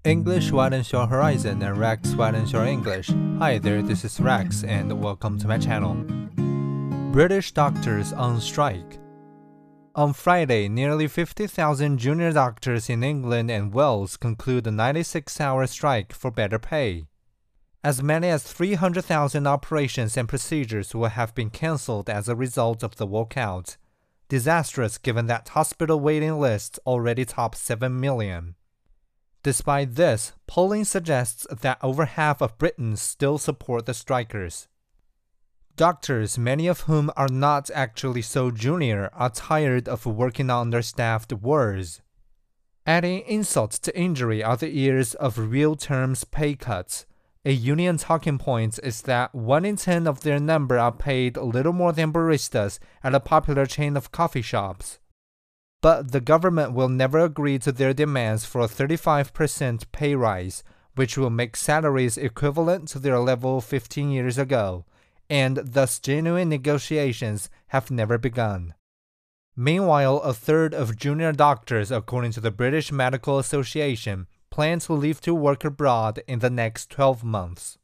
English widens your horizon and Rex widens your English. Hi there, this is Rex and welcome to my channel. British doctors on strike. On Friday, nearly 50,000 junior doctors in England and Wales conclude a 96-hour strike for better pay. As many as 300,000 operations and procedures will have been cancelled as a result of the walkout. Disastrous given that hospital waiting lists already top 7 million. Despite this, polling suggests that over half of Britons still support the strikers. Doctors, many of whom are not actually so junior, are tired of working on understaffed wards. Adding insult to injury are the years of real terms pay cuts. A union talking point is that 1 in 10 of their number are paid little more than baristas at a popular chain of coffee shops. But the government will never agree to their demands for a 35% pay rise, which will make salaries equivalent to their level 15 years ago, and thus genuine negotiations have never begun. Meanwhile, a third of junior doctors, according to the British Medical Association, plan to leave to work abroad in the next 12 months.